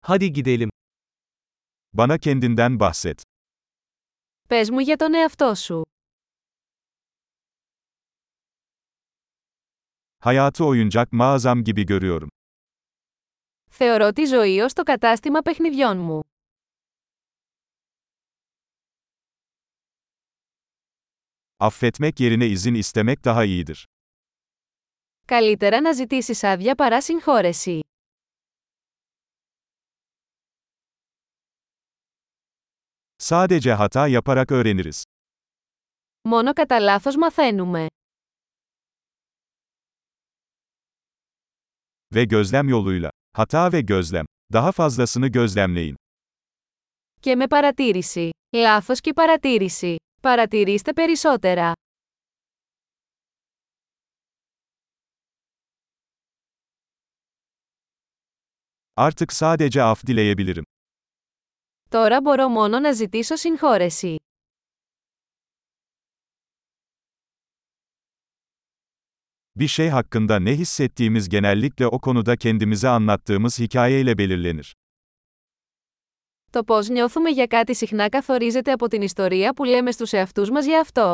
Hadi gidelim. Bana kendinden bahset. Πες μου για τον εαυτό σου. Hayatı oyuncak mağazam gibi görüyorum. Θεωρώ τη ζωή ως το κατάστημα παιχνιδιών μου. Affetmek yerine izin istemek daha iyidir. Καλύτερα να ζητήσεις άδεια παρά συγχώρεση. Sadece hata yaparak öğreniriz. Μόνο κατά λάθος μαθαίνουμε. Ve gözlem yoluyla. Hata ve gözlem. Daha fazlasını gözlemleyin. Και με παρατήρηση. Λάθος και παρατήρηση. Παρατηρήστε περισσότερα. Artık sadece af dileyebilirim. Τώρα μπορώ μόνο να ζητήσω συγχώρεση. Bir şey hakkında ne hissettiğimiz genellikle o konuda kendimize anlattığımız hikayeyle belirlenir. Το πώς νιώθουμε για κάτι συχνά καθορίζεται από την ιστορία που λέμε στους εαυτούς μας για αυτό.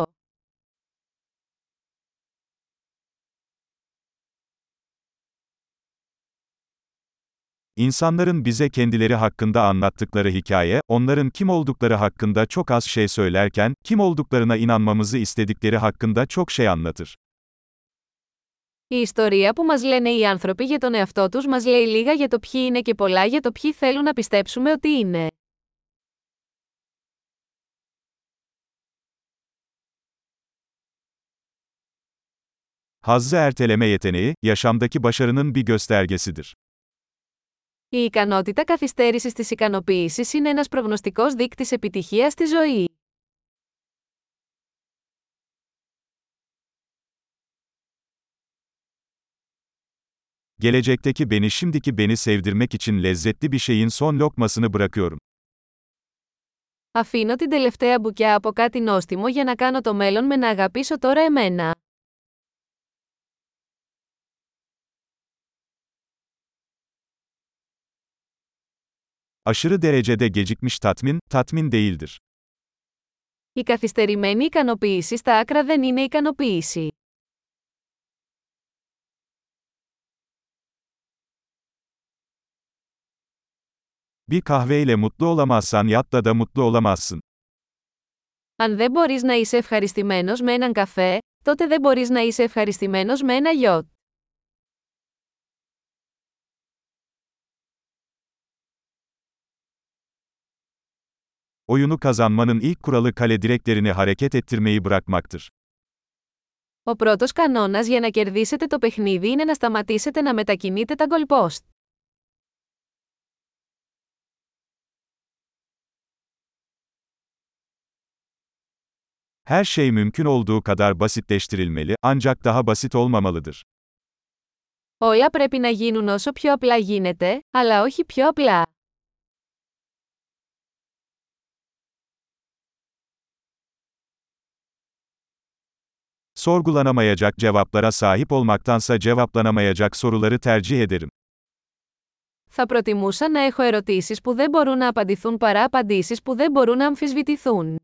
İnsanların bize kendileri hakkında anlattıkları hikaye, onların kim oldukları hakkında çok az şey söylerken, kim olduklarına inanmamızı istedikleri hakkında çok şey anlatır. Η ιστορία που μας λένε οι άνθρωποι για τον εαυτό τους μας λέει λίγα για το ποιοι είναι και πολλά για το ποιοι θέλουν να πιστέψουμε ότι είναι. Hazzı erteleme yeteneği, yaşamdaki başarının bir göstergesidir. Η ικανότητα καθυστέρησης της ικανοποίησης είναι ένας προγνωστικός δείκτης επιτυχίας στη ζωή. Gelecekteki beni şimdiki beni sevdirmek için lezzetli bir şeyin son lokmasını bırakıyorum. Αφήνω την τελευταία μπουκιά από κάτι νόστιμο για να κάνω το μέλλον με να αγαπήσω τώρα εμένα. Aşırı derecede gecikmiş tatmin, tatmin değildir. Η καθυστερημένη ικανοποίηση στα άκρα δεν είναι ικανοποίηση. Bir kahveyle mutlu olamazsan yatta da mutlu olamazsın. Αν δεν μπορείς να είσαι ευχαριστημένος με έναν καφέ, τότε δεν μπορείς να είσαι ευχαριστημένος με ένα γιότ. Oyunu kazanmanın ilk kuralı kale direklerini hareket ettirmeyi bırakmaktır. Ο πρώτος κανόνας για να κερδίσετε το παιχνίδι είναι να σταματήσετε να μετακινείτε τα goalpost. Her şey mümkün olduğu kadar basitleştirilmeli, ancak daha basit olmamalıdır. Όλα πρέπει να γίνουν όσο πιο απλά γίνεται, αλλά όχι πιο απλά. Sorgulanamayacak cevaplara sahip olmaktansa cevaplanamayacak soruları tercih ederim. Θα προτιμούσα να έχω ερωτήσεις που δεν μπορούν να απαντηθούν παρά απαντήσεις που δεν μπορούν να αμφισβητηθούν.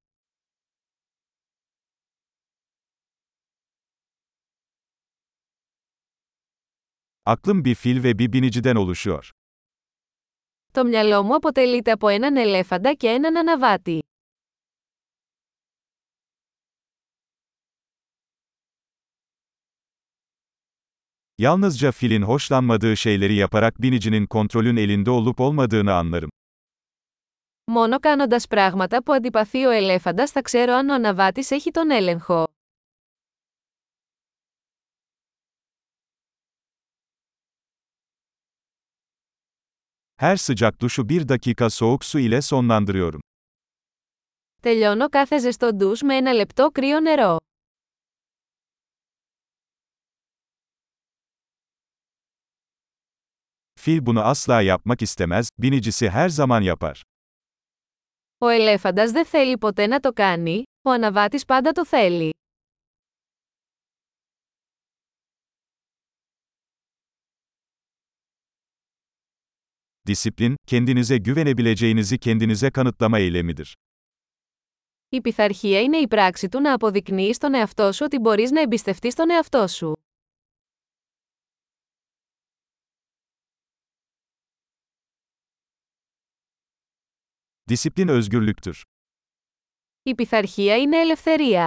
Aklım bir fil ve bir biniciden oluşuyor. Το μυαλό μου αποτελείται από έναν ελέφαντα και έναν αναβάτη. Yalnızca filin hoşlanmadığı şeyleri yaparak binicinin kontrolün elinde olup olmadığını anlarım. Μόνο κάνοντας πράγματα που αντιπαθεί ο ελέφαντας θα ξέρω αν ο αναβάτης έχει τον έλεγχο. Her sıcak duşu 1 dakika soğuk su ile sonlandırıyorum. Τελειώνω κάθε ζεστό ντους με ένα λεπτό κρύο νερό. Fil bunu asla yapmak istemez, binicisi her zaman yapar. Ο ελέφαντας δεν θέλει ποτέ να το κάνει, ο αναβάτης πάντα το θέλει. Disiplin, kendinize güvenebileceğinizi kendinize kanıtlama eylemidir. Η πειθαρχία είναι η πράξη του να αποδεικνύεις στον εαυτό σου ότι μπορείς να εμπιστευτείς τον εαυτό σου. Disiplin özgürlüktür. Η πειθαρχία είναι ελευθερία.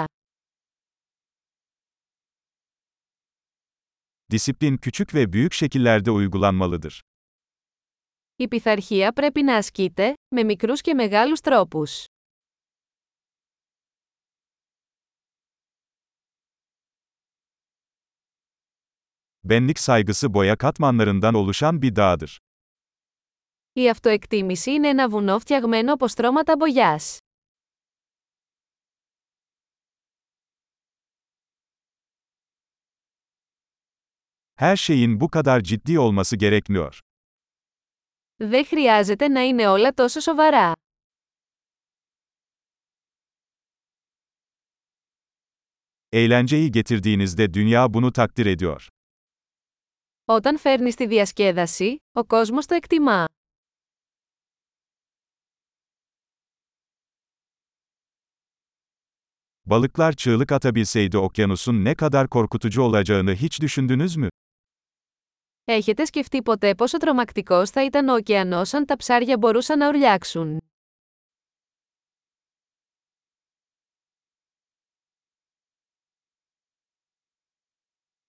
Disiplin küçük ve büyük şekillerde uygulanmalıdır. Η πειθαρχία πρέπει να ασκείται, με μικρούς και μεγάλους τρόπους. Benlik saygısı boya katmanlarından oluşan bir dağdır. Η αυτοεκτίμηση είναι ένα βουνό φτιαγμένο από στρώματα μπογιάς. Her şeyin bu kadar ciddi olması gerekmiyor. Δεν χρειάζεται να είναι όλα τόσο σοβαρά. Eğlenceyi getirdiğinizde dünya bunu takdir ediyor. Όταν φέρνεις τη διασκέδαση, ο κόσμος το εκτιμά. Balıklar çığlık atabilseydi okyanusun ne kadar korkutucu olacağını hiç düşündünüz mü? Έχετε σκεφτεί ποτέ πόσο τρομακτικός θα ήταν ο ωκεανός αν τα ψάρια μπορούσαν να ουρλιάξουν?